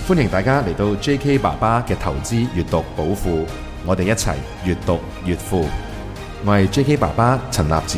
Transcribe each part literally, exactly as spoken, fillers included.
歡迎大家嚟到 J K 爸爸嘅投資閱讀寶庫，我哋一齊閱讀越富。我係 J K 爸爸陳立展。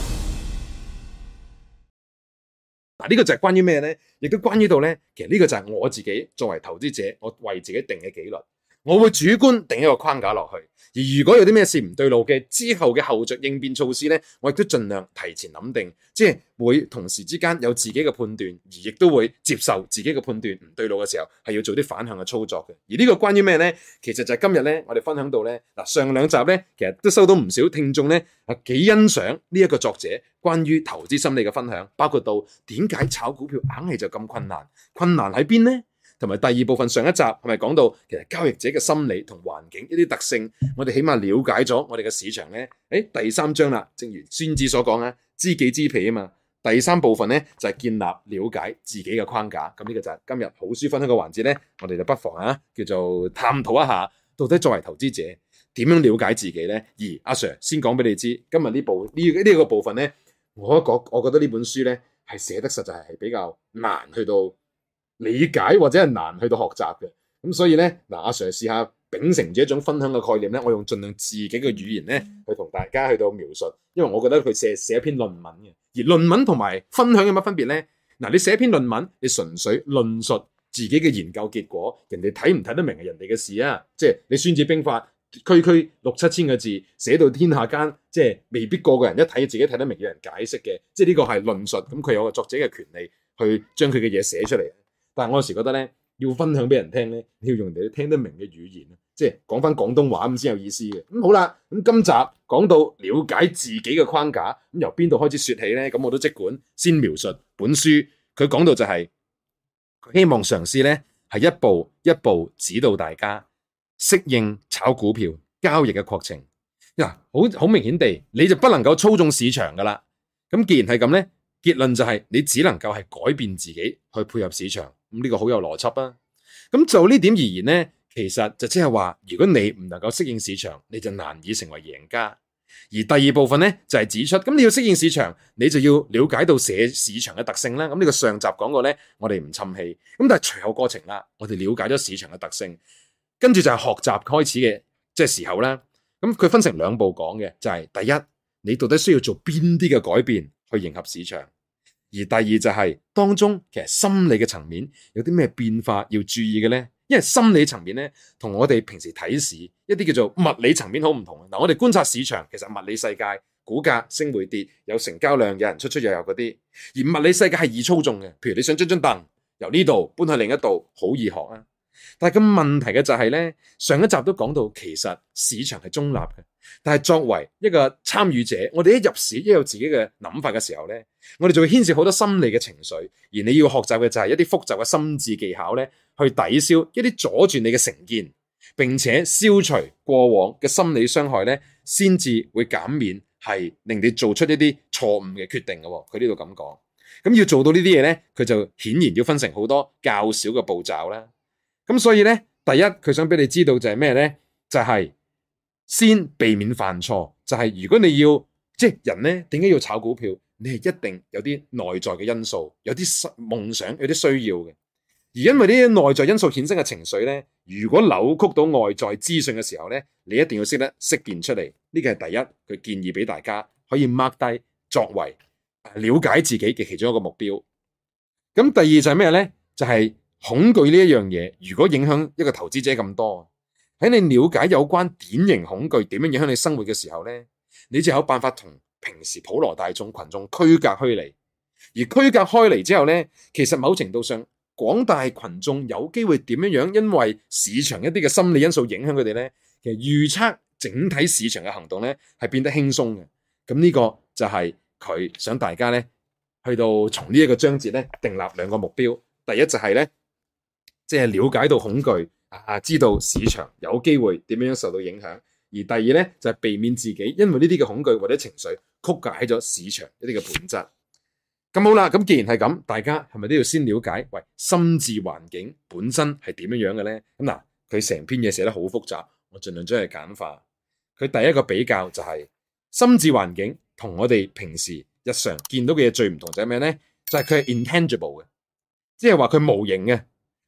嗱，呢個就係關於咩呢？亦都關於到呢，其實呢個就係我自己作為投資者，我為自己定嘅紀律。我會主觀定一個框架落去，而如果有啲咩事唔對路嘅，之後嘅後續應變措施呢，我亦都盡量提前諗定，即係會同時之間有自己嘅判斷，而亦都會接受自己嘅判斷唔對路嘅時候，係要做啲反向嘅操作嘅。而呢個關於咩呢？其實就係今日呢，我哋分享到呢，嗱，上兩集呢，其實都收到唔少聽眾呢，啊幾欣賞呢一個作者關於投資心理嘅分享，包括到點解炒股票硬係就咁困難，困難喺邊呢？同埋第二部分上一集係咪講到其實交易者嘅心理同環境一啲特性，我哋起碼了解咗我哋嘅市場呢。誒，第三章啦，正如孫子所講啊，知己知彼啊嘛。第三部分呢，就係建立了解自己嘅框架。咁呢個就係今日好書分享嘅環節呢，我哋就不妨啊叫做探討一下，到底作為投資者點樣了解自己呢？而阿 Sir 先講俾你知，今日呢部呢呢個部分呢，我覺我覺得呢本書呢係寫得實在係比較難去到理解或者係難去到學習嘅，咁所以咧，嗱，阿 Sir 試下秉承住一種分享嘅概念咧，我用盡量自己嘅語言咧去同大家去到描述，因為我覺得佢寫寫一篇論文嘅，而論文同埋分享有乜分別咧？嗱，你寫一篇論文，你純粹論述自己嘅研究結果，人哋睇唔睇得明係人哋嘅事啊，即係你孫子兵法區區六七千個字寫到天下間，即係未必個個人一睇自己睇得明，有人解釋嘅，即係呢個係論述，咁佢有個作者嘅權利去將佢嘅嘢寫出嚟。但係我有時覺得咧，要分享俾人聽咧，你要用人哋聽得明嘅語言，即係講翻廣東話咁先有意思嘅。咁好啦，咁今集講到了解自己嘅框架，咁由邊度開始說起咧？咁我都即管先描述本書，佢講到就係佢希望嘗試咧係一步一步指導大家適應炒股票交易嘅過程。嗱，好好明顯地，你就不能夠操縱市場噶啦。咁既然係咁咧，結論就係你只能夠係改變自己去配合市場。咁呢個好有邏輯啊！咁就呢點而言呢，其實就即係話，如果你唔能夠適應市場，你就難以成為贏家。而第二部分呢，就係指出，咁你要適應市場，你就要了解到市市場嘅特性啦。咁呢個上集講過呢，我哋唔侵氣。咁但係隨後過程啦，我哋了解咗市場嘅特性，跟住就係學習開始嘅即係時候啦。咁佢分成兩步講嘅，就係第一，你到底需要做邊啲嘅改變去迎合市場。而第二就係、是、當中其實心理嘅層面有啲咩變化要注意嘅呢？因為心理層面咧同我哋平時睇市一啲叫做物理層面好唔同。嗱，我哋觀察市場，其實物理世界股價升會跌，有成交量，有人出出入入嗰啲。而物理世界係易操縱嘅，譬如你想將張凳由呢度搬去另一度，好易學啊。但係個問題嘅就係咧，上一集都講到，其實市場係中立嘅。但係作為一個參與者，我哋一入市，一有自己嘅諗法嘅時候咧，我哋就會牽涉好多心理嘅情緒，而你要學習嘅就係一啲複雜嘅心智技巧咧，去抵消一啲阻住你嘅成見，並且消除過往嘅心理傷害咧，先至會減免係令你做出一啲錯誤嘅決定嘅。佢呢度咁講，咁要做到呢啲嘢咧，佢就顯然要分成好多較少嘅步驟啦。咁所以咧，第一佢想俾你知道就係咩咧，就係、是。先避免犯錯，就係、是、如果你要即係人咧，點解要炒股票？你係一定有啲內在嘅因素，有啲夢想，有啲需要嘅。而因為呢啲內在因素衍生嘅情緒咧，如果扭曲到外在資訊嘅時候咧，你一定要識得識辨出嚟。呢個係第一，佢建議俾大家可以 mark 低作為了解自己嘅其中一個目標。咁第二就係咩咧？就係、是、恐懼呢一樣嘢，如果影響一個投資者咁多。喺你了解有關典型恐懼點樣影響你生活嘅時候咧，你就有辦法同平時普羅大眾群眾區隔開嚟。而區隔開嚟之後咧，其實某程度上廣大群眾有機會點樣樣，因為市場一啲嘅心理因素影響佢哋咧，其實預測整體市場嘅行動咧係變得輕鬆嘅。咁呢個就係佢想大家咧去到從呢一個章節咧訂立兩個目標。第一就係咧，即係了解到恐懼。啊！知道市場有機會點樣受到影響，而第二咧就係、是、避免自己因為呢啲嘅恐懼或者情緒曲解咗市場一啲嘅本質。咁好啦，咁既然係咁，大家係咪都要先了解喂心智環境本身係點樣樣嘅咧？咁嗱，佢成篇嘢寫得好複雜，我盡量將佢簡化。佢第一個比較就係、是、心智環境同我哋平時日常見到嘅嘢最唔同就係咩咧？就係佢係 intangible 嘅，即係話佢無形嘅。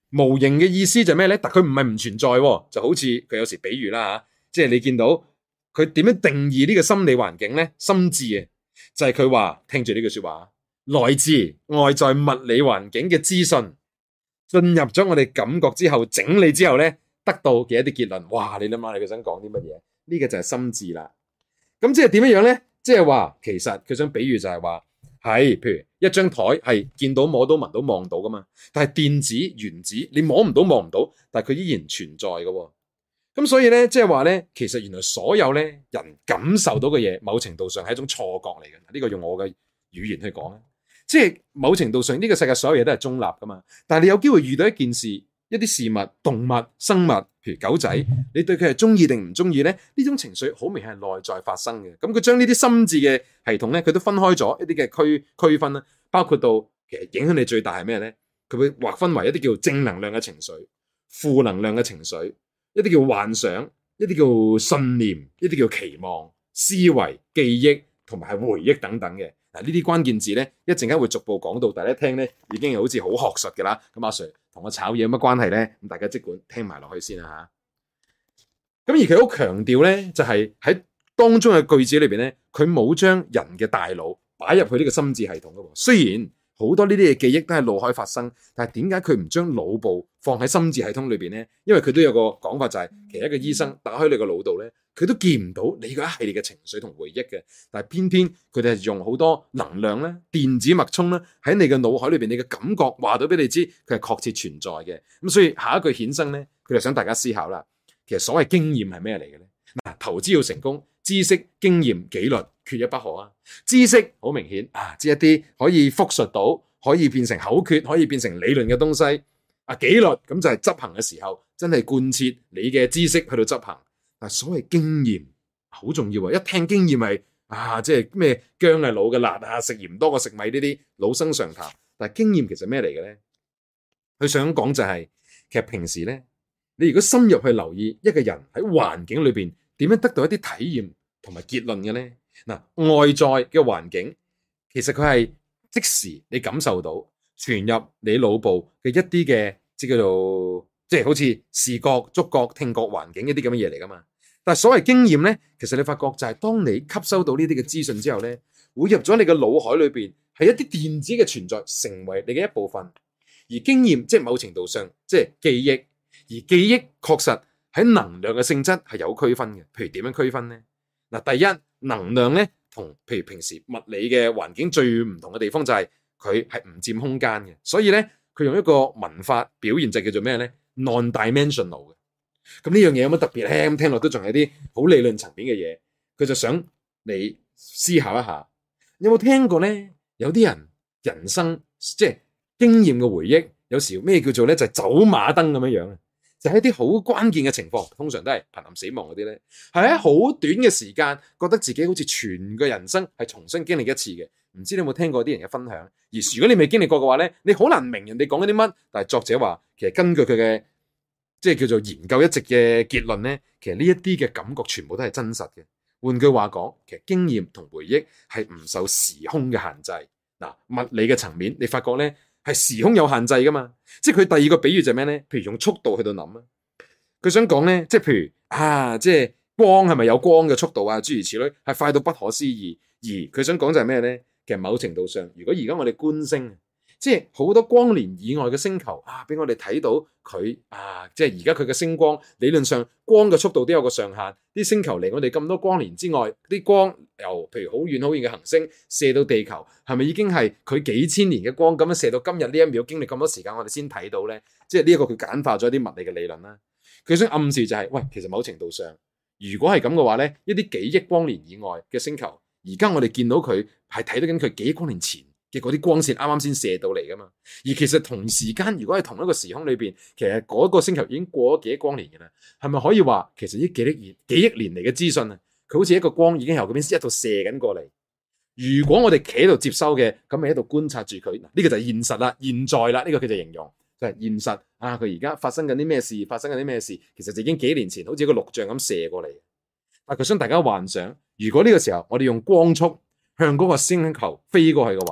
無形嘅意思就係咩咧？但佢唔係唔存在喎，就好似佢有時比喻啦嚇，即係你見到佢點樣定義呢個心理環境咧？心智啊，就係佢話聽住呢句説話，來自外在物理環境嘅資訊進入咗我哋感覺之後，整理之後咧，得到嘅一啲結論。哇！你諗下，你佢想講啲乜嘢？呢個就係心智啦。咁即係點樣樣咧？即係話其實佢想比喻就係話係，譬如一張台係見到摸到聞到望到噶嘛，但係電子原子你摸唔到望唔到，但係佢依然存在嘅喎。咁所以咧，即係話咧，其實原來所有咧人感受到嘅嘢，某程度上係一種錯覺嚟嘅。呢個用我嘅語言去講咧，即係某程度上呢個世界所有嘢都係中立噶嘛。但係你有機會遇到一件事、一啲事物、動物、生物，譬如狗仔，你對佢係中意定唔中意咧？呢種情緒好明顯係內在發生嘅。咁佢將呢啲心智嘅系統咧，佢都分開咗一啲嘅區區分啦，包括到其實影響你最大係咩咧？佢會劃分為一啲叫正能量嘅情緒、負能量嘅情緒。一啲叫幻想，一啲叫信念，一啲叫期望、思維、記憶同埋係回憶等等嘅。嗱，呢啲關鍵字咧，一陣間會逐步講到，大家聽咧已經好似好學術嘅啦。咁阿 Sir 同我炒嘢有乜關係咧？咁大家即管聽埋落去先啦嚇。咁而佢好強調咧，就係喺當中嘅句子裏邊咧，佢冇將人嘅大腦擺入去呢個心智系統嘅。雖然好多呢啲嘅記憶都係腦海發生，但係點解佢唔將腦部放喺心智系統裏邊咧？因為佢都有個講法，就係其實一個醫生打開你個腦度咧，佢都見唔到你嗰一系列嘅情緒同回憶嘅。但係偏偏佢哋係用好多能量咧、電子脈衝咧喺你嘅腦海裏邊，你嘅感覺話到俾你知，佢係確切存在嘅。咁所以下一句衍生咧，佢就想大家思考啦。其實所謂經驗係咩嚟嘅咧？嗱，投資要成功，知識、經驗、紀律缺一不可啊！知識好明顯啊，知一啲可以複述到、可以變成口訣、可以變成理論嘅東西。啊，紀律咁就係執行嘅時候，真係貫徹你嘅知識去到執行。但係所謂經驗好重要啊！一聽經驗係啊，即係咩薑係老嘅辣啊，食鹽多過食米呢啲老生常談。但係經驗其實咩嚟嘅咧？佢想講就係、是、其實平時咧，你如果深入去留意一個人喺環境裏邊點樣得到一啲體驗同埋結論嘅咧，嗱，外在嘅環境其實佢係即時你感受到傳入你腦部嘅一啲嘅即叫做即係好似視覺、觸覺、聽覺環境一啲咁嘅嘢嚟噶嘛。但係所謂經驗咧，其實你發覺就係當你吸收到呢啲嘅資訊之後咧，會入咗你嘅腦海裏邊係一啲電子嘅存在，成為你嘅一部分。而經驗即係某程度上即係記憶。而記憶確實喺能量嘅性質係有區分嘅，譬如點樣區分呢？嗱，第一，能量咧同譬如平時物理嘅環境最唔同嘅地方就係佢係唔佔空間嘅，所以咧佢用一個文法表現就叫做咩咧 non-dimensional 嘅。咁呢樣嘢有乜特別咧？咁聽落都仲係啲好理論層面嘅嘢，佢就想你思考一下，有冇聽過咧？有啲人人生即係經驗嘅回憶，有時咩叫做咧就係走馬燈咁樣樣啊！就係一啲好關鍵嘅情況，通常都係瀕臨死亡嗰啲咧，係喺好短嘅時間，覺得自己好似全個人生係重新經歷一次嘅。唔知你有冇聽過啲人嘅分享？而如果你未經歷過嘅話咧，你好難明人哋講緊啲乜。但係作者話，其實根據佢嘅即係叫做研究一直嘅結論咧，其實呢一啲嘅感覺全部都係真實嘅。換句話講，其實經驗同回憶係唔受時空嘅限制。嗱，物理嘅層面，你發覺咧。係時空有限制噶嘛？即係佢第二個比喻就係咩咧？譬如用速度去到諗啊，佢想講咧，即係譬如啊，即係光係咪有光嘅速度啊？諸如此類，係快到不可思議。而佢想講就係咩咧？其實某程度上，如果而家我哋觀星，即係好多光年以外嘅星球啊，俾我哋睇到佢啊，即係而家佢嘅星光，理論上光嘅速度都有個上限。啲星球離我哋咁多光年之外，啲光由譬如好遠好遠嘅行星射到地球，係咪已經係佢幾千年嘅光咁樣射到今日呢一秒，經歷咁多時間，我哋先睇到咧？即係呢一個佢簡化咗啲物理嘅理論啦。佢想暗示就係、是，喂，其實某程度上，如果係咁嘅話咧，一啲幾億光年以外嘅星球，而家我哋見到佢係睇到緊佢幾億光年前嘅嗰啲光線啱啱先射到嚟噶嘛。而其實同時間，如果係同一個時空裏邊，其實嗰個星球已經過咗幾億光年嘅啦，係咪可以話其實呢幾億年幾億年嚟嘅資訊啊，佢好似一個光已經由嗰邊一度射緊過嚟。如果我哋企喺度接收嘅，咁咪喺度觀察住佢。呢個就係現實啦，現在啦，呢個佢就形容就係現實啊。佢而家發生緊啲咩事，發生緊啲咩事，其實就已經幾年前好似一個錄像咁射過嚟。但佢想大家幻想，如果呢個時候我哋用光速向嗰個星球飛過去嘅話，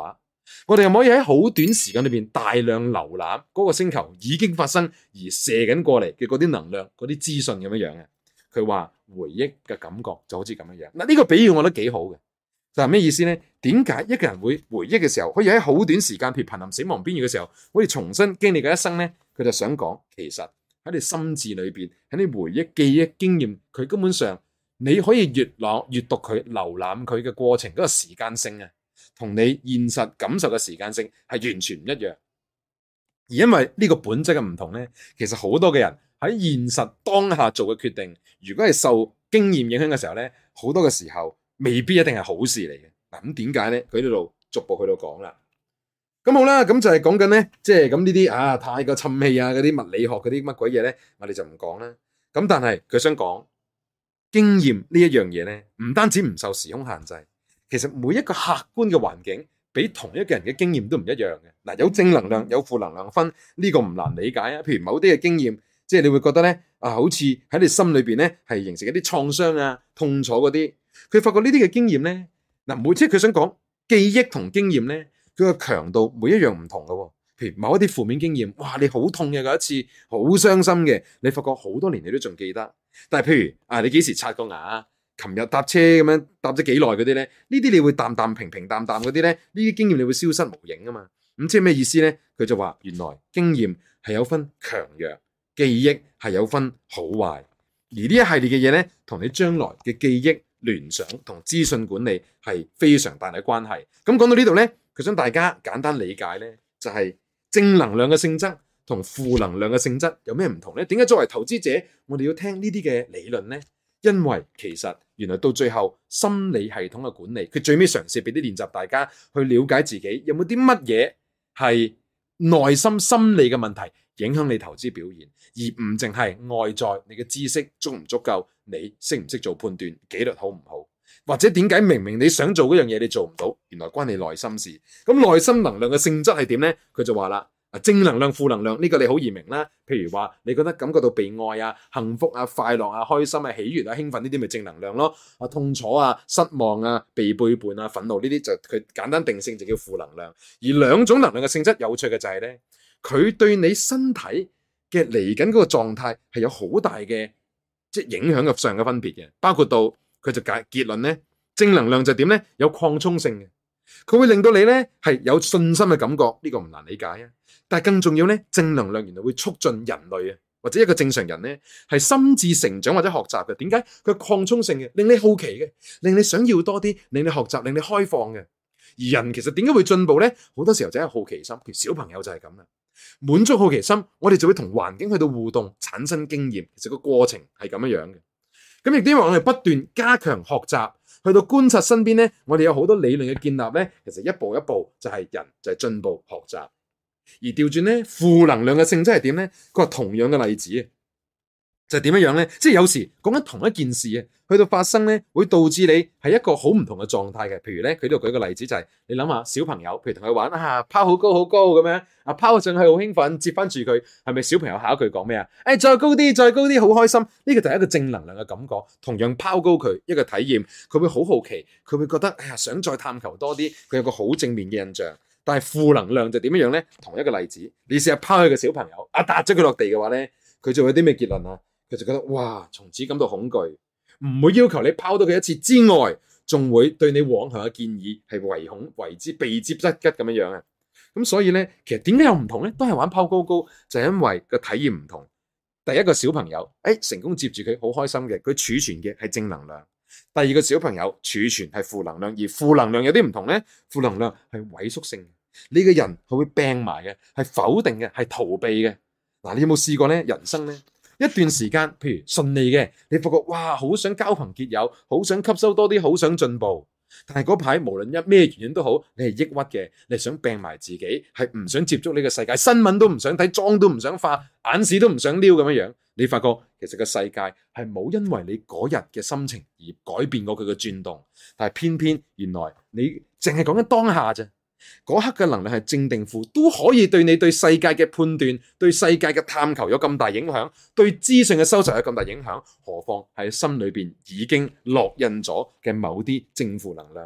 我哋又可以喺好短時間裏邊大量瀏覽嗰個星球已經發生而射緊過嚟嘅嗰啲能量、嗰啲資訊咁樣樣嘅。佢話回憶嘅感覺就好似咁樣樣。嗱，呢個比喻我覺得幾好嘅。就係咩意思呢？點解一個人會回憶嘅時候，可以喺好短時間，譬如瀕臨死亡邊緣嘅時候，可以重新經歷嘅一生呢？佢就想講，其實喺你心智裏邊，喺你回憶、記憶、經驗，佢根本上你可以閱覽、閱讀佢、瀏覽佢嘅過程嗰個時間性啊，同你現實感受嘅時間性係完全唔一樣。而因為呢個本質嘅唔同呢，其實好多嘅人喺現實當下做嘅決定，如果係受經驗影響嘅時候呢，好多嘅時候未必一定係好事嚟嘅。嗱，咁點解呢？佢呢度逐步去到講啦。咁好啦，咁就係講緊呢，即係咁呢啲啊，太過沉氣啊，嗰啲物理學嗰啲乜鬼嘢呢，我哋就唔講啦。咁但係佢想講經驗呢一樣嘢呢，唔單止唔受時空限制，其實每一個客觀嘅環境，比同一個人嘅經驗都唔一樣嘅。嗱，有正能量，有負能量分，呢個唔難理解啊。譬如某啲嘅經驗，即係你會覺得呢，啊，好似喺你心裏邊呢，係形成一啲創傷啊、痛楚嗰啲。佢發覺呢啲嘅經驗呢，嗱，每即係佢想講記憶同經驗呢，佢個強度每一樣唔同嘅。譬如某一啲負面經驗，哇，你好痛嘅嗰一次，好傷心嘅，你發覺好多年你都仲記得。但係譬如啊，你幾時刷過牙？琴日搭車咁樣搭咗幾耐嗰啲咧？呢啲你會淡淡平平淡淡嗰啲咧？呢啲經驗你會消失無影啊嘛。咁即係咩意思咧？佢就話原來經驗係有分強弱，記憶係有分好壞，而呢一系列嘅嘢咧，同你將來嘅記憶聯想同資訊管理係非常大嘅關係。咁講到呢度咧，佢想大家簡單理解咧，就係正能量嘅性質同負能量嘅性質有咩唔同咧？點解作為投資者，我哋要聽呢啲嘅理論咧？因為其實原來到最後心理系統嘅管理，佢最尾嘗試俾啲練習大家去了解自己有冇啲乜嘢係內心心理嘅問題影響你投資表現，而唔淨係外在你嘅知識足唔足夠，你識唔識做判斷，紀律好唔好，或者點解明明你想做嗰樣嘢你做唔到，原來關你內心事。咁內心能量嘅性質係點呢？佢就話啦。正能量、負能量呢個你好易明啦。譬如話你覺得感覺到被愛啊、幸福啊、快樂啊、開心啊、喜悅啊、興奮呢啲咪正能量咯。啊，痛楚啊、失望啊、被背叛啊、憤怒呢啲就佢簡單定性就叫負能量。而兩種能量嘅性質有趣嘅就係咧，佢對你身體嘅嚟緊嗰個狀態係有好大嘅即係影響嘅上嘅分別嘅，包括到佢就解結論咧，正能量就點咧，有擴充性嘅。佢會令到你咧係有信心嘅感覺，呢個唔難理解啊。但係更重要咧，正能量原來會促進人類啊，或者一個正常人咧係心智成長或者學習嘅。點解？佢擴充性嘅，令你好奇嘅，令你想要多啲，令你學習，令你開放嘅。而人其實點解會進步咧？好多時候就係好奇心。譬如小朋友就係咁啦，滿足好奇心，我哋就會同環境去到互動，產生經驗。其實個過程係咁樣樣嘅。咁亦都因為我哋不斷加強學習。去到觀察身邊咧，我哋有好多理論嘅建立咧，其實一步一步就係人就係進步學習。而調轉咧，負能量嘅性質係點咧？佢話同樣嘅例子啊，就係點樣樣咧？即係有時講緊同一件事啊，去到發生咧，會導致你係一個好唔同嘅狀態嘅。譬如咧，佢呢度舉個例子就係、是、你諗下小朋友，譬如同佢玩啊，拋好高好高咁樣啊，拋上去好興奮，接翻住佢，係咪小朋友下一句講咩啊？誒、哎，再高啲，再高啲，好開心。呢、這個就係一個正能量嘅感覺，同樣拋高佢一個體驗，佢會好好奇，佢會覺得哎呀，想再探求多啲，佢有個好正面嘅印象。但係負能量就點樣樣咧？同一個例子，你試下拋去個小朋友，啊，踏咗佢落地嘅話咧，佢就會有啲咩結論啊？佢就覺得哇，從此感到恐懼，唔會要求你拋到佢一次之外，仲會對你往後嘅建議係唯恐為之避之則吉咁樣樣啊！咁所以咧，其實點解有唔同咧？都係玩拋高高，就係因為個體驗唔同。第一個小朋友，誒、哎，成功接住佢，好開心嘅，佢儲存嘅係正能量。第二個小朋友儲存係負能量，而負能量有啲唔同咧，負能量係萎縮性。呢個人佢會病埋嘅，係否定嘅，係逃避嘅。嗱，你有冇試過咧？人生咧一段時間，譬如順利嘅，你發覺哇，好想交朋結友，好想吸收多啲，好想進步。但係嗰排無論因咩原因都好，你係抑鬱嘅，你係想病埋自己，係唔想接觸呢個世界，新聞都唔想睇，妝都唔想化，眼屎都唔想撩咁樣樣。你發覺其實個世界係冇因為你嗰日嘅心情而改變過佢嘅轉動，但係偏偏原來你淨係講緊當下啫。嗰刻嘅能量係正定負，都可以對你對世界嘅判斷、對世界嘅探求有咁大影響，對資訊嘅收集有咁大影響，何況係心裏邊已經烙印咗嘅某啲正負能量呢？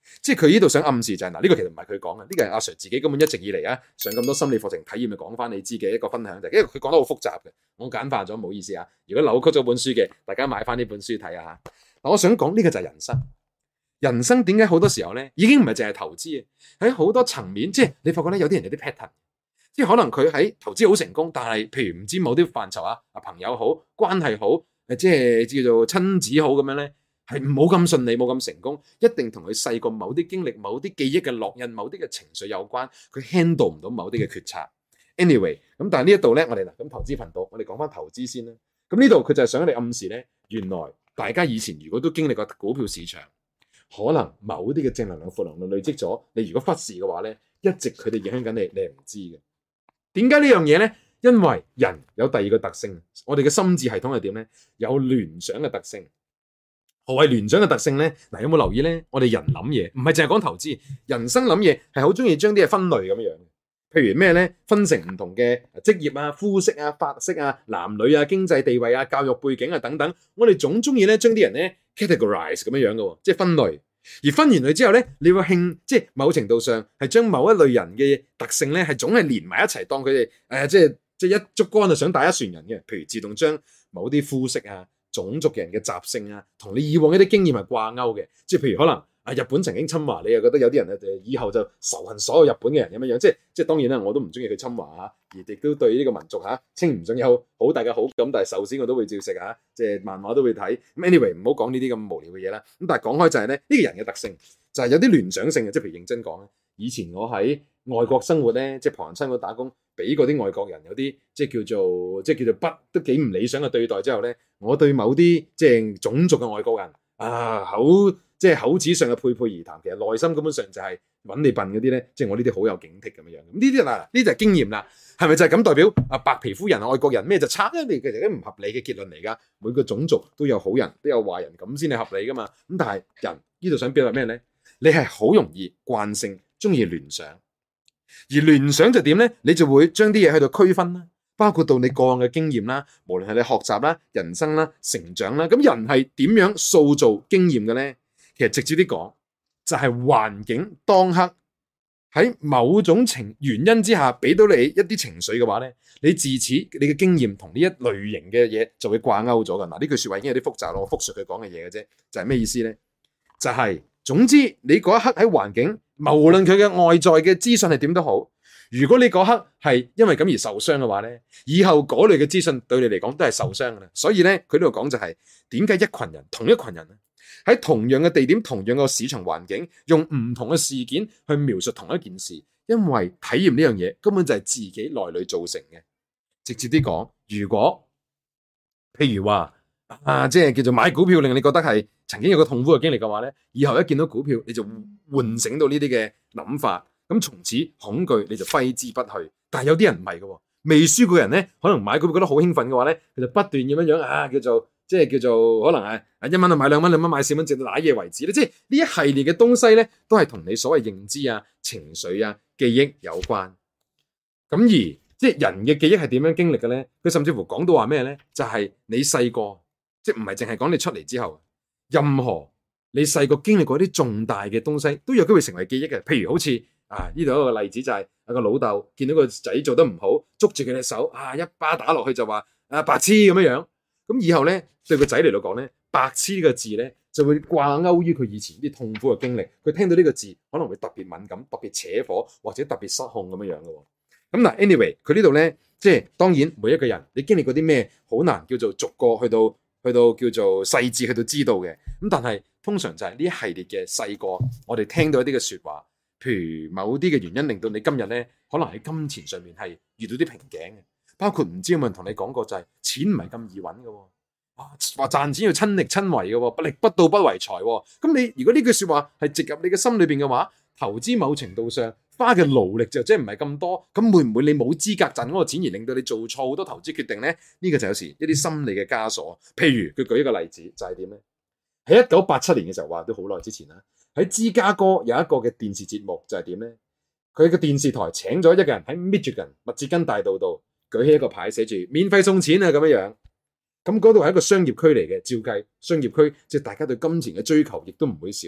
即係佢呢度想暗示就係、是、嗱，呢、這個其實唔係佢講嘅，呢、這個係阿 Sir 自己根本一直以嚟啊上咁多心理課程體驗，咪講翻你知嘅一個分享就係，因為佢講得好複雜嘅，我簡化咗，唔好意思啊。如果扭曲咗本書嘅，大家買翻呢本書睇下嚇。嗱，我想講呢個就係人生，人生點解好多時候咧已經唔係淨係投資啊，喺好多層面，即係你發覺咧有啲人有啲 pattern，即係可能佢喺投資好成功，但係譬如唔知某啲範疇啊，啊朋友好，關係好，誒即係叫做親子好咁樣咧。係冇咁順利，冇咁成功，一定同佢細個某啲經歷、某啲記憶嘅烙印、某啲嘅情緒有關。佢 handle 唔到某啲嘅決策。Anyway，咁但係呢一度咧，我哋嗱咁投資頻道，我哋講翻投資先啦。咁呢度佢就係想你暗示咧，原來大家以前如果都經歷過股票市場，可能某啲嘅正能量、負能量累積咗，你如果忽視嘅話咧，一直佢哋影響緊你，你係唔知嘅。點解呢樣嘢咧？因為人有第二個特性，我哋嘅心智系統係點咧？有聯想嘅特性。何謂聯想嘅特性咧？嗱，有冇留意咧？我哋人諗嘢唔係淨係講投資，人生諗嘢係好中意將啲嘢分類咁樣。譬如咩咧？分成唔同嘅職業啊、膚色啊、髮色啊、男女啊、經濟地位啊、教育背景啊等等。我哋總中意咧將啲人咧 categorize 咁樣樣嘅，即係分類。而分完類之後咧，你會興即係某程度上係將某一類人嘅特性咧係總係連埋一齊，當佢哋誒即係即係一竹竿就想打一船人嘅。譬如自動將某啲膚色啊、種族嘅人嘅習性啊，同你以往一啲經驗係掛鈎嘅，即係譬如可能啊日本曾經侵華，你又覺得有啲人咧以後就仇恨所有日本嘅人咁樣樣，即係即係當然啦，我都唔中意佢侵華啊，而亦都對呢個民族嚇稱唔上有好大嘅好感，但係壽司我都會照食嚇，即係漫畫都會睇。Anyway，唔好講呢啲咁無聊嘅嘢啦。咁但係講開就係咧，呢個人嘅特性就係有啲聯想性嘅，即係譬如認真講咧，以前我喺外國生活咧，即係旁人親我打工，俾嗰啲外國人有啲即係叫做即係叫做不都幾唔理想嘅對待之後咧，我對某啲即係種族嘅外國人啊，口即係口齒上嘅配配而談，其實內心根本上就係揾你笨嗰啲咧，即係我呢啲好有警惕咁樣樣。咁呢啲嗱，呢就係經驗啦，係咪就係咁代表啊白皮膚人、外國人咩就差咧？你其實都唔合理嘅結論嚟㗎。每個種族都有好人，都有壞人，咁先係合理㗎嘛。咁但係人呢度想表達咩咧？你係好容易慣性中意聯想。而聯想就點咧？你就會將啲嘢喺度區分啦，包括到你個案嘅經驗啦，無論係你學習啦、人生啦、成長啦，咁人係點樣塑造經驗嘅咧？其實直接啲講，就係環境當刻喺某種情原因之下，俾到你一啲情緒嘅話咧，你自此你嘅經驗同呢一類型嘅嘢就會掛鈎咗㗎。嗱，呢句説話已經有啲複雜咯，我複述佢講嘅嘢嘅啫，就係咩意思咧？就係總之你嗰一刻喺環境。無論佢嘅外在嘅資訊係點都好，如果你嗰刻係因為咁而受傷嘅話咧，以後嗰類嘅資訊對你嚟講都係受傷㗎啦。所以咧，佢呢度講就係點解一群人同一群人喺同樣嘅地點、同樣嘅市場環境，用唔同嘅事件去描述同一件事，因為體驗呢樣嘢根本就係自己內裏造成嘅。直接啲講，如果譬如話啊，即係叫做買股票令你覺得係曾經有個痛苦嘅經歷嘅話咧，以後一見到股票你就喚醒到呢啲嘅諗法，咁從此恐懼你就揮之不去。但係有啲人唔係嘅，未輸過人咧，可能買股票覺得好興奮嘅話咧，佢就不斷咁樣樣啊，叫做即係叫做可能係啊一蚊就買兩蚊，兩蚊買四蚊，直到瀨嘢為止咧。即係呢一系列嘅東西咧，都係同你所謂認知啊、情緒啊、記憶有關。咁而即係人嘅記憶係點樣經歷嘅咧？佢甚至乎講到話咩咧？就係、是、你細個，即係唔係淨係講你出嚟之後，任何你細個經歷過啲重大嘅東西，都有機會成為記憶嘅。譬如好似啊，呢度一個例子就係、是、有個老豆見到個仔做得唔好，捉住佢隻手啊，一巴打落去就話啊白痴咁樣樣。咁以後咧對個仔嚟到講咧，白痴呢個字咧就會掛鈎於佢以前啲痛苦嘅經歷。佢聽到呢個字可能會特別敏感、特別扯火或者特別失控咁樣樣嘅。咁嗱 ，anyway，佢呢度咧即係當然每一個人你經歷過啲咩好難叫做逐個去到去到叫做細緻去到知道嘅。咁但係通常就係呢一系列嘅細個，我哋聽到一啲嘅説話，譬如某啲嘅原因令到你今日咧可能喺金錢上面係遇到啲瓶頸嘅，包括唔知有冇人同你講過就係錢唔係咁易揾嘅，啊話賺錢要親力親為嘅，不力不到不為財。咁你如果呢句説話係植入你嘅心裏邊嘅話，投資某程度上花嘅勞力就即係唔係咁多，咁會唔會你冇資格賺嗰個錢而令到你做錯好多投資決定咧？呢、這個就有時一啲心理嘅枷鎖。譬如佢舉一個例子就係點咧？喺一九八七年嘅時候，話都好耐之前啦。喺芝加哥有一個嘅電視節目就係點咧？佢個電視台請咗一個人喺 Michigan 密歇根大道度舉起一個牌，寫住免費送錢啊咁樣樣。咁嗰度係一個商業區嚟嘅，照計商業區即係大家對金錢嘅追求亦都唔會少啊。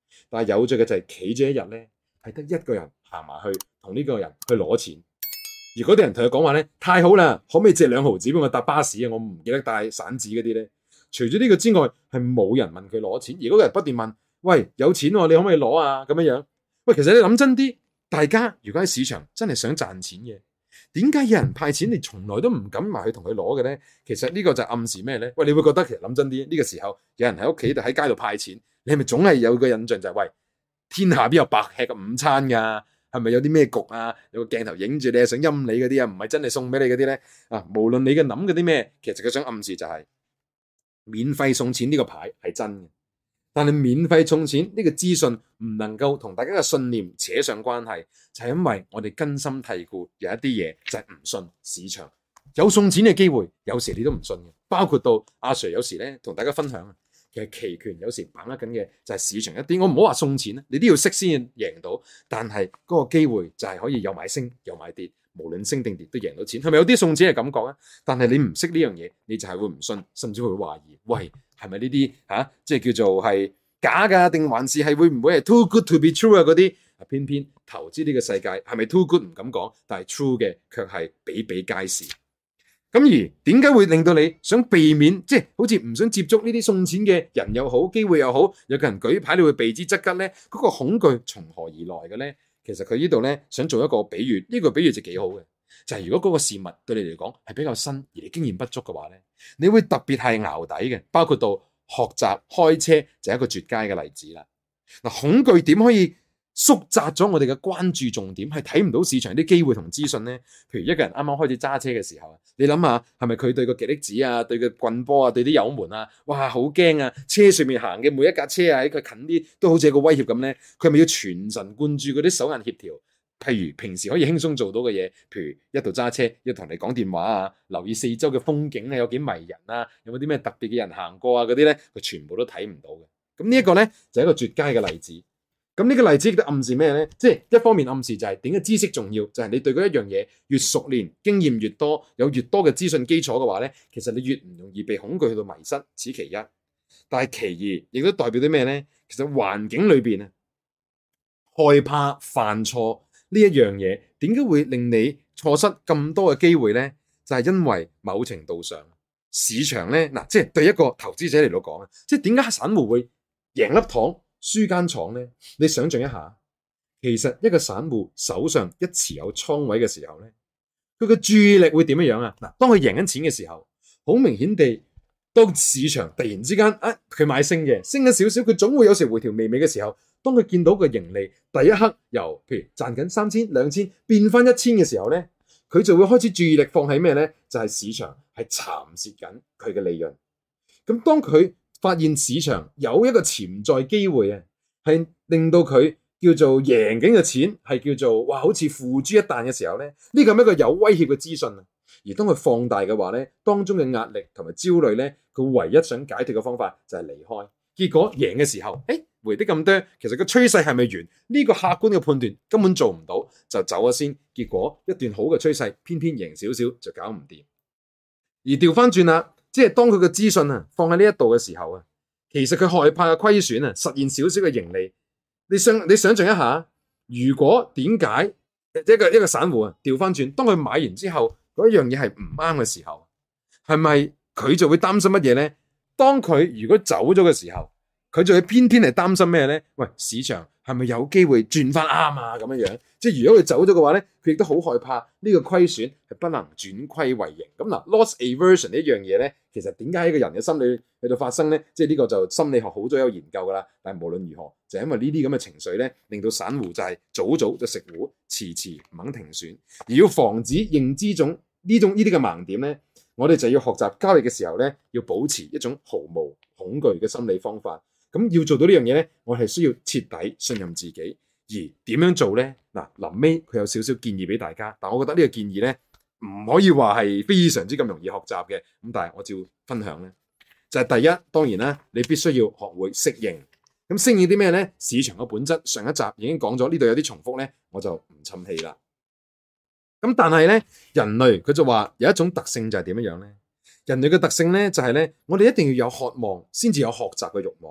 但係有趣嘅就係企咗一日咧，係得一個人行埋去同呢個人去攞錢，而嗰啲人同佢講話咧，太好啦，可唔可以借兩毫紙俾我搭巴士啊？我唔記得帶散紙嗰啲咧。除咗呢個之外，係冇人問佢攞錢，而嗰個人不斷問：喂，有錢喎，你可唔可以攞啊？咁樣樣。喂，其實你諗真啲，大家如果喺市場真係想賺錢嘅，點解有人派錢你從來都唔敢埋去同佢攞嘅咧？其實呢個就暗示咩咧？喂，你會覺得其實諗真啲，呢個時候有人喺屋企度喺街度派錢，你係咪總係有個印象就係喂，天下邊有白吃嘅午餐㗎？係咪有啲咩局啊？有個鏡頭影住你，想陰你嗰啲啊，唔係真係送俾你嗰啲咧啊！無論你嘅諗嗰啲咩，其實佢想暗示就係免費送錢呢個牌係真嘅，但係免費送錢呢個資訊唔能夠同大家嘅信念扯上關係，就係因為我哋根深蒂固有一啲嘢就係唔信市場有送錢嘅機會，有時你都唔信嘅。包括到阿 Sir 有時咧同大家分享啊，其實期權有時把握緊嘅就係市場一啲，我唔好話送錢，你都要識先贏到，但係嗰個機會就係可以有買升有買跌，無論升定跌都贏到錢，係咪有啲送錢嘅感覺啊？但係你唔識呢樣嘢，你就係會唔信，甚至會懷疑，喂，係咪呢啲吓，即係叫做係假噶，定還是係會唔會係 too good to be true 啊？嗰啲啊，偏偏投資呢個世界係咪 too good 唔敢講，但係 true 嘅卻係比比皆是。咁而點解會令到你想避免，即係好似唔想接觸呢啲送錢嘅人又好，機會又好，有個人舉牌你會避之則吉咧？嗰個恐懼從何而來嘅咧？其實佢呢度咧想做一個比喻，呢個比喻就幾好嘅，就係如果嗰個事物對你嚟講係比較新，而你經驗不足嘅話咧，你會特別係淆底嘅。包括到學習開車就係一個絕佳嘅例子啦。嗱，恐懼點可以縮窄咗我哋嘅關注重點，係睇唔到市場啲機會同資訊呢？譬如一個人啱啱開始揸車嘅時候啊，你諗下係咪佢對個極力子啊，對個棍波啊，對啲油門啊，哇好驚啊！車上面行嘅每一架車啊，喺佢近啲都好似有個威脅咁呢。佢係咪要全神貫注嗰啲手眼協調？譬如平時可以輕鬆做到嘅嘢，譬如一度揸車，一同你講電話啊，留意四周嘅風景啊，有幾迷人啊，有冇啲咩特別嘅人行過啊嗰啲呢，佢全部都睇唔到嘅。咁呢一個呢，就係一個絕佳嘅例子。咁呢個例子亦都暗示咩呢？即係一方面暗示就係點解知識重要，就係你對嗰一樣嘢越熟練，經驗越多，有越多嘅資訊基礎嘅話呢，其實你越唔容易被恐懼去到迷失，此其一。但係其二，亦都代表啲咩呢？其實環境裏邊啊，害怕犯錯呢一樣嘢，點解會令你錯失咁多嘅機會呢？就係因為某程度上市場呢，嗱，即係對一個投資者嚟到講啊，即係點解散戶會贏粒糖輸間廠呢？你想象一下，其實一個散戶手上一持有倉位嘅時候呢，佢嘅注意力會點樣樣啊？嗱，當佢贏緊錢嘅時候，好明顯地，當市場突然之間啊，佢買升嘅，升咗少少，佢總會有時回調微微嘅時候，當佢見到個盈利第一刻由譬如賺緊三千兩千變翻一千嘅時候呢，佢就會開始注意力放喺咩呢？就係市場係蠶蝕緊佢嘅利潤。咁當佢發現市場有一個潛在機會啊，係令到佢叫做贏緊嘅錢係叫做哇，好似付諸一旦嘅時候咧，呢個係一個有威脅嘅資訊啊。而當佢放大嘅話咧，當中嘅壓力同埋焦慮咧，佢唯一想解脫嘅方法就係離開。結果贏嘅時候，誒回啲咁多，其實個趨勢係咪完？呢個客觀嘅判斷根本做唔到，就走咗先。結果一段好嘅趨勢，偏偏贏少少就搞唔掂。而調翻轉啦。即係當佢嘅資訊啊放喺呢一度嘅時候啊，其實佢害怕嘅虧損啊實現少少嘅盈利。你想你想象一下，如果點解一個一個散戶啊調翻轉，當佢買完之後嗰一樣嘢係唔啱嘅時候，係咪佢就會擔心乜嘢呢？當佢如果走咗嘅時候，佢就會偏偏係擔心咩呢？喂，市場係咪有機會轉翻啱啊？咁樣樣，即係如果佢走咗嘅話咧，佢亦都好害怕呢個虧損係不能轉虧為盈。咁嗱 ，loss aversion 呢一樣嘢咧，其實點解喺個人嘅心理去到發生咧？即係呢個就心理學好早有研究噶啦。但係無論如何，就係因為呢啲咁嘅情緒咧，令到散戶就係早早就食糊，遲遲唔肯停損。而要防止認知種呢種呢啲嘅盲點咧，我哋就要學習交易嘅時候咧，要保持一種毫無恐懼嘅心理方法。咁要做到呢樣嘢咧，我係需要徹底信任自己。而點樣做咧？嗱，臨尾佢有少少建議俾大家，但我覺得呢個建議咧唔可以話係非常之咁容易學習嘅。咁但係我照分享咧，就係第一，當然啦，你必須要學會適應。咁適應啲咩咧？市場嘅本質上一集已經講咗，呢度有啲重複咧，我就唔侵氣啦。咁但係咧，人類佢就話有一種特性就係點樣樣咧？人類嘅特性咧就係咧，我哋一定要有渴望先至有學習嘅慾望。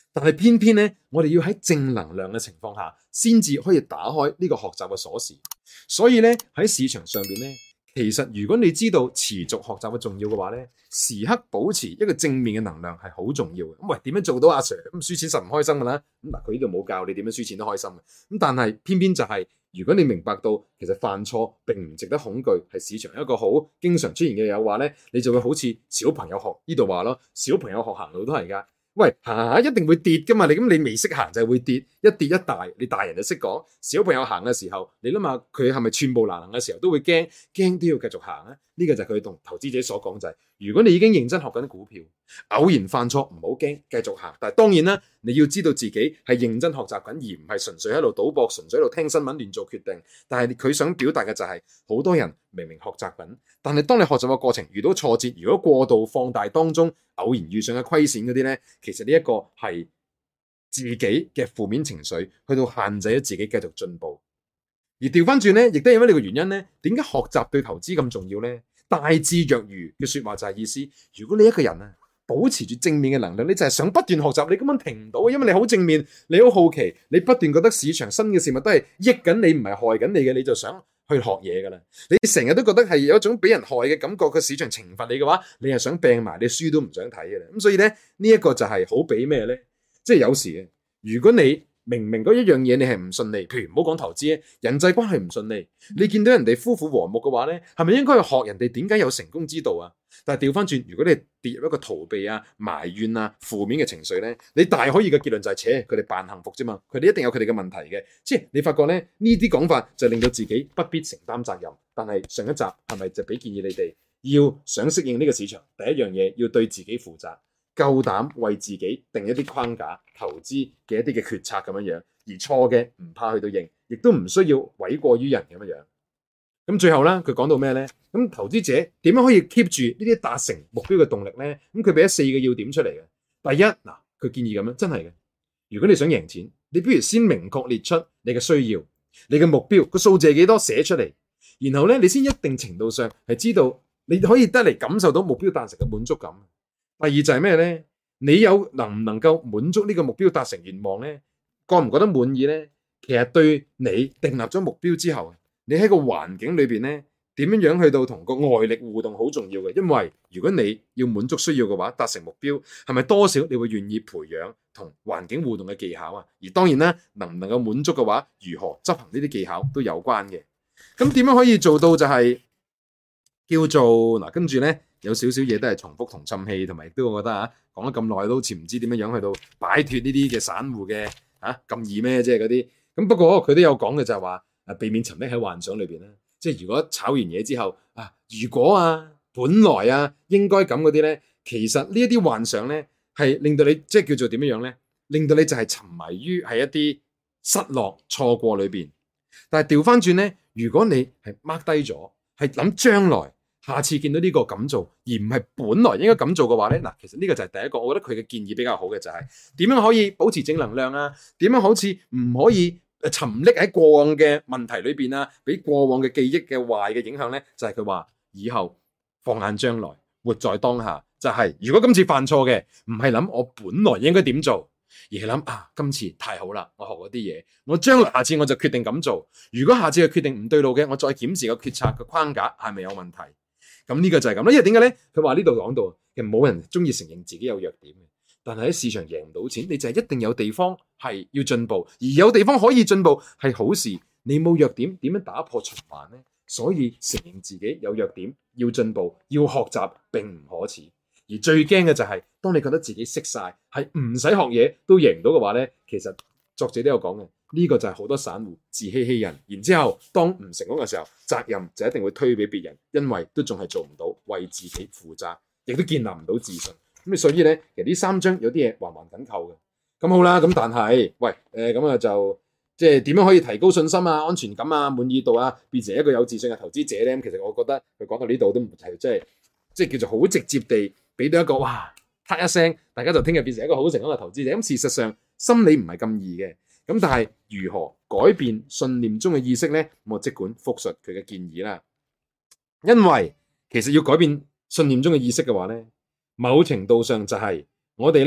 但係偏偏咧，我哋要喺正能量嘅情況下，先至可以打開呢個學習嘅鎖匙。所以咧，喺市場上邊咧，其實如果你知道持續學習嘅重要嘅話咧，時刻保持一個正面嘅能量係好重要嘅。咁喂，點樣做到阿 Sir？咁輸錢實唔開心噶啦。咁嗱，佢呢度冇教你點樣輸錢都開心嘅。咁但係偏偏就係、是，如果你明白到其實犯錯並唔值得恐懼，係市場一個好經常出現嘅誘惑咧，你就會好似小朋友學呢度話咯，小朋友學行路都係噶。喂，行行下一定會跌噶嘛？你咁你未識行就係會跌，一跌一大，你大人就識講。小朋友行嘅時候，你諗下佢係咪寸步難行嘅時候都會驚，驚都要繼續行咧？呢個就係佢同投資者所講就係，如果你已經認真學緊股票，偶然犯錯唔好驚，繼續行。但係當然啦，你要知道自己係認真學習緊，而唔係純粹喺度賭博，純粹喺度聽新聞亂做決定。但係佢想表達嘅就係，好多人明明學習緊，但係當你學習嘅過程遇到挫折，如果過度放大當中偶然遇上嘅虧損嗰啲咧，其實呢一個係自己嘅負面情緒，去到限制咗自己繼續進步。而調翻轉咧，亦都係因為呢個原因咧，點解學習對投資咁重要咧？大智若愚嘅說話就係意思，如果你一個人啊保持住正面嘅能量，你就係想不斷學習，你根本停唔到，因為你好正面，你好好奇，你不斷覺得市場新嘅事物都係益緊你，唔係害緊你嘅，你就想去學嘢噶啦。你成日都覺得係有一種俾人害嘅感覺，個市場懲罰你嘅話，你係想病埋，你書都唔想睇嘅啦。咁所以咧，呢一個就係好比咩咧？即係有時嘅，如果你明明嗰一樣嘢你係唔順利，譬如唔好講投資咧，人際關係唔順利，你見到人哋夫婦和睦嘅話咧，係咪應該去學人哋點解有成功之道啊？但係調翻轉，如果你跌入一個逃避啊、埋怨啊、負面嘅情緒咧，你大可以嘅結論就係，扯佢哋扮幸福啫嘛，佢哋一定有佢哋嘅問題嘅。即係你發覺咧，呢啲講法就令到自己不必承擔責任。但係上一集係咪就俾建議你哋要想適應呢個市場，第一樣嘢要對自己負責。夠膽為自己定一啲框架，投資嘅一啲嘅決策咁樣樣，而錯嘅唔怕去到認，亦都唔需要諉過於人咁樣樣。咁最後咧，佢講到咩咧？咁投資者點樣可以 keep 住呢啲達成目標嘅動力咧？咁佢俾咗四個要點出嚟嘅。第一，嗱，佢建議咁樣，真係嘅。如果你想贏錢，你不如先明確列出你嘅需要、你嘅目標個數字係幾多，寫出嚟，然後咧你先一定程度上係知道你可以得嚟感受到目標達成嘅滿足感。第二就係咩咧？你有能唔能夠滿足呢個目標達成願望咧？覺唔覺得滿意咧？其實對你訂立咗目標之後，你喺個環境裏邊咧，點樣樣去到同個外力互動好重要嘅。因為如果你要滿足需要嘅話，達成目標係咪多少你會願意培養同環境互動嘅技巧啊？而當然啦，能唔能夠滿足嘅話，如何執行呢啲技巧都有關嘅。咁點樣可以做到就係叫做嗱，跟住咧。有少少嘢都係重複同氹氣，同埋亦都我覺得啊，講咗咁耐都好似唔知點樣樣去到擺脫呢啲嘅散戶嘅啊咁易咩？即係嗰啲咁。不過佢都有講嘅就係話啊，避免沉溺喺幻想裏邊啦。即係如果炒完嘢之後啊，如果啊，本來啊應該咁嗰啲咧，其實呢一啲幻想咧係令到你即係叫做點樣樣咧，令到你就係沉迷於喺一啲失落錯過裏邊。但係調翻轉咧，如果你係 mark 低咗，係諗將來。下次見到呢個咁做，而唔係本來應該咁做嘅話咧，嗱，其實呢個就係第一個，我覺得佢嘅建議比較好嘅就係點樣可以保持正能量啊？點樣好似唔可以沉溺喺過往嘅問題裏邊啊？俾過往嘅記憶嘅壞嘅影響咧，就係佢話以後放眼將來，活在當下，就係如果今次犯錯嘅，唔係諗我本來應該點做，而係諗啊，今次太好啦，我學嗰啲嘢，我將來下次我就決定咁做。如果下次嘅決定唔對路嘅，我再檢視個決策嘅框架係咪有問題。咁呢個就係咁啦，因為點解咧？佢話呢度講到，其實冇人中意承認自己有弱點嘅，但係喺市場贏唔到錢，你就係一定有地方係要進步，而有地方可以進步係好事。你冇弱點，點樣打破循環咧？所以承認自己有弱點，要進步，要學習並唔可恥。而最驚嘅就係，當你覺得自己識晒，係唔使學嘢都贏唔到嘅話咧，其實作者都有講嘅。呢個就係好多散戶自欺欺人，然之後當唔成功嘅時候，責任就一定會推俾別人，因為都仲係做唔到為自己負責，亦都建立唔到自信。咁所以咧，其實呢三章有啲嘢環環緊扣嘅。咁好啦，咁但係喂，誒咁啊就即係點樣可以提高信心啊、安全感啊、滿意度啊，變成一個有自信嘅投資者咧？咁其實我覺得佢講到呢度都唔係即係即係叫做好直接地俾到一個哇，啪一聲，大家就聽日變成一個好成功嘅投資者。咁事實上心理唔係咁易嘅。咁但係如何改變信念中嘅意識咧？我即管複述佢嘅建議啦。因為其實要改變信念中嘅意識嘅話咧，某程度上就係我哋咧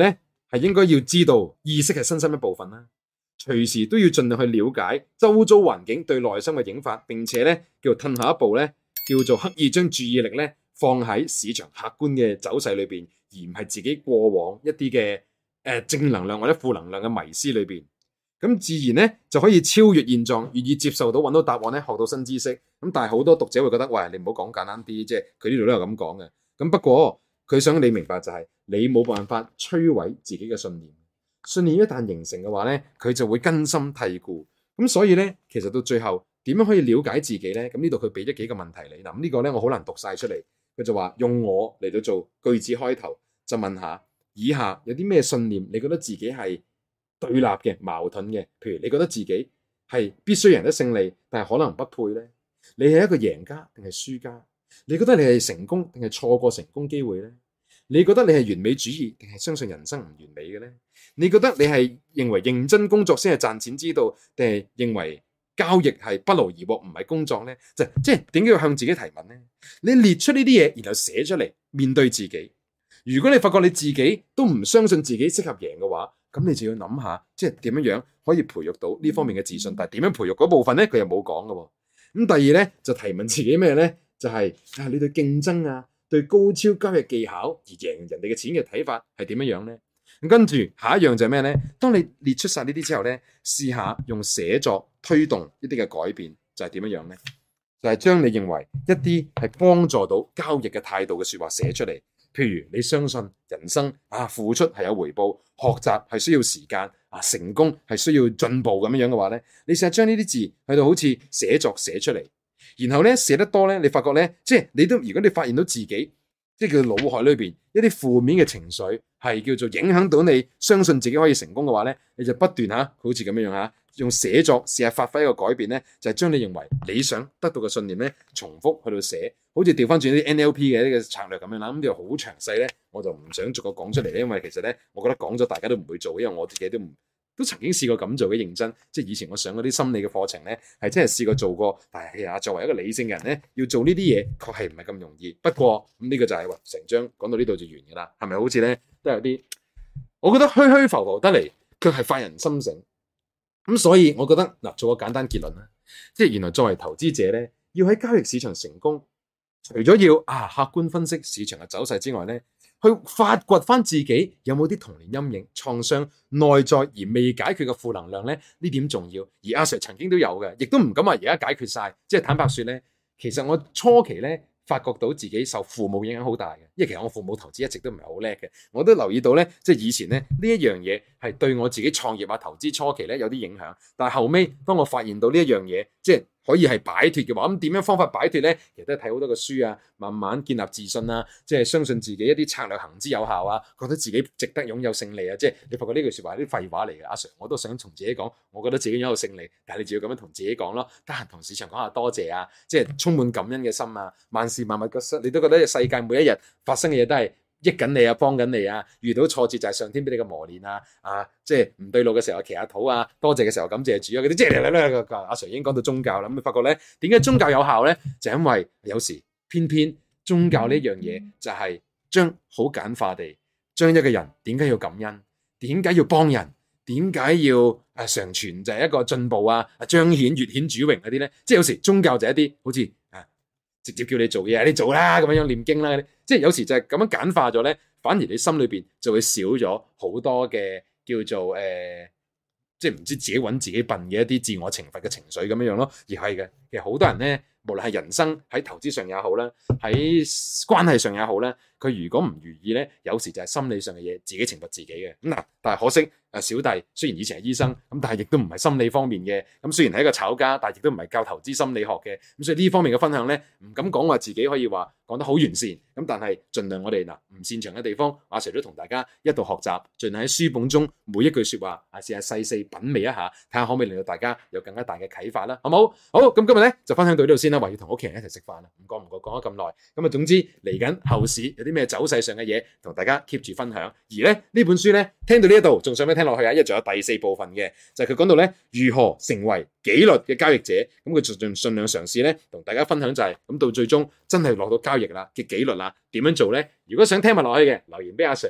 係應該要知道意識係身心一部分啦，隨時都要盡量去了解周遭環境對內心嘅影響，並且咧叫做褪下一步咧，叫做刻意將注意力咧放喺市場客觀嘅走勢裏邊，而唔係自己過往一啲嘅誒正能量或者負能量嘅迷思裏邊。咁自然咧就可以超越現狀，願意接受到揾到答案咧，學到新知識。咁但係好多讀者會覺得，喂，你唔好講簡單啲，即係佢呢度都有咁講嘅。咁不過佢想你明白就係、是，你冇辦法摧毀自己嘅信念。信念一旦形成嘅話咧，佢就會根深蒂固。咁所以咧，其實到最後點樣可以了解自己咧？咁呢度佢俾咗幾個問題你。嗱，咁呢個咧我好難讀晒出嚟。佢就話用我嚟到做句子開頭，就問下以下有啲咩信念，你覺得自己係對立嘅、矛盾嘅？譬如你覺得自己係必須贏得勝利，但係可能不配呢？你係一個贏家定係輸家？你覺得你係成功定係錯過成功機會呢？你覺得你係完美主義定係相信人生唔完美嘅呢？你覺得你係認為認真工作先係賺錢之道，定係認為交易係不勞而獲唔係工作呢？就即係點解要向自己提問呢？你列出呢啲嘢，然後寫出嚟面對自己。如果你發覺你自己都唔相信自己適合贏嘅話，咁你就要諗下，即係點樣樣可以培育到呢方面嘅自信。但係點樣培育嗰部分咧，佢又冇講嘅。咁第二咧就提問自己咩咧？就係、是、啊，你對競爭啊，對高超交易技巧而贏人哋嘅錢嘅睇法係點樣樣咧？咁跟住下一樣就係咩咧？當你列出晒呢啲之後咧，試下用寫作推動一啲嘅改變，就係點樣樣咧？就係、是、將你認為一啲係幫助到交易嘅態度嘅說話寫出嚟。譬如你相信人生啊，付出係有回報，學習係需要時間啊，成功係需要進步咁樣樣嘅話咧，你成日將呢啲字去到好似寫作寫出嚟，然後咧寫得多咧，你發覺咧，即係你都如果你發現到自己即係叫腦海裏邊一啲負面嘅情緒係叫做影響到你相信自己可以成功嘅話咧，你就不斷吓好似咁樣樣吓用寫作試下發揮一個改變咧，就係將你認為你想得到嘅信念咧重複去到寫。好似調翻轉啲 N L P 嘅呢個策略咁樣啦，咁呢個好詳細咧，我就唔想逐個講出嚟咧，因為其實咧，我覺得講咗大家都唔會做，因為我自己都唔都曾經試過咁做嘅，認真，即係以前我上嗰啲心理嘅課程咧，係真係試過做過，但係啊，作為一個理性嘅人咧，要做呢啲嘢，確係唔係咁容易。不過咁呢個就係話成章講到呢度就完㗎啦，係咪好似咧都有啲，我覺得虛虛浮浮得嚟，卻係發人心醒。咁所以我覺得嗱，做個簡單結論啦，即係原來作為投資者咧，要喺交易市場成功。除咗要啊客觀分析市場嘅走勢之外咧，去發掘翻自己有冇啲童年陰影、創傷、內在而未解決嘅負能量咧，呢點重要。而阿 Sir 曾經都有嘅，亦都唔敢話而家解決晒。即係坦白說咧，其實我初期咧發覺到自己受父母影響好大嘅，因為其實我父母投資一直都唔係好叻嘅，我都留意到咧，即係以前咧呢一樣嘢係對我自己創業啊投資初期咧有啲影響，但係後尾當我發現到呢一樣嘢，即係可以係擺脫嘅話，咁點樣方法擺脫咧？其實都係睇好多嘅書啊，慢慢建立自信啊，即係相信自己一啲策略行之有效啊，覺得自己值得擁有勝利啊，即係你發覺呢句說話係啲廢話嚟嘅。阿 Sir 我都想同自己講，我覺得自己擁有勝利，但係你就要咁樣同自己講咯，得閒同市場講下多謝啊，即係充滿感恩嘅心啊，萬事萬物嘅心，你都覺得世界每一日發生嘅嘢都係益緊你啊，幫緊你啊，遇到挫折就係上天俾你嘅磨練啊，啊，即係唔對路嘅時候祈下禱啊，多謝嘅時候感謝主啊，嗰啲即係咧咧阿 Sir 已經講到宗教啦，咁你發覺咧點解宗教有效咧？就因為有時偏偏宗教呢樣嘢就係將好簡化地將一個人點解要感恩，點解要幫人，點解要誒常傳就係一個進步啊，彰顯越顯主榮嗰啲咧，即係有時宗教就係一啲好似啊直接叫你做嘢，你做啦咁樣樣念經啦，即係有時就係咁樣簡化咗咧，反而你心裏邊就會少咗好多嘅叫做誒、呃，即係唔知自己揾自己笨嘅一啲自我懲罰嘅情緒咁樣樣咯。而係嘅，其實好多人咧，無論係人生喺投資上也好啦，喺關係上也好啦，佢如果唔如意咧，有時就係心理上嘅嘢，自己懲罰自己嘅。咁嗱，但係可惜誒，小弟雖然以前係醫生，咁但係亦都唔係心理方面嘅。咁雖然係一個炒家，但係亦都唔係教投資心理學嘅。咁所以呢方面嘅分享咧，唔敢講話自己可以話講得好完善。咁但係盡量我哋嗱唔擅長嘅地方，阿 Sir 都同大家一度學習，盡量喺書本中每一句說話，啊試下細細品味一下，睇下可唔可以令到大家有更加大嘅啟發啦，好冇？好，咁今日咧就分享到呢度先啦，話要同屋企人一齊食飯啦，唔覺唔覺講咗咁耐。咁啊，總之嚟緊後市有啲咩走勢上嘅嘢，同大家 keep 住分享。而咧呢本書咧聽到呢一度，仲想咩聽落去啊？因為仲有第四部分嘅，就係佢講到咧如何成為紀律嘅交易者。咁佢盡盡量嘗試咧同大家分享就係、是、咁到最終真係落到交易啦嘅紀律啦，點樣做咧？如果想聽埋落去嘅，留言俾阿 Sir 啊！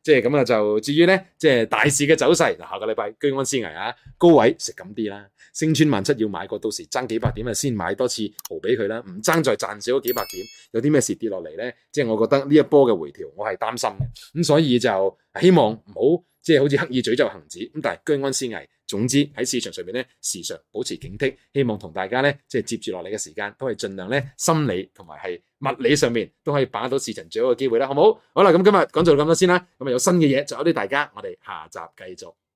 即係咁啊，就至於咧，即係大市嘅走勢，嗱，下個禮拜居安思危啊，高位食咁啲啦，升穿萬七要買過，到時爭幾百點啊，先買多次豪俾佢啦，唔爭再賺少咗幾百點，有啲咩事跌落嚟咧？即係我覺得呢一波嘅回調，我係擔心嘅，咁所以就希望唔好即係好似刻意詛咒恒指，咁但係居安思危。總之喺市場上面咧，時常保持警惕，希望同大家咧即係接住落嚟嘅時間，都係盡量咧心理同埋係物理上面都可以把握到市場最好嘅機會啦，好唔好？好啦，咁今日講到咁多先啦，咁啊有新嘅嘢，就有啲大家，我哋下集繼續。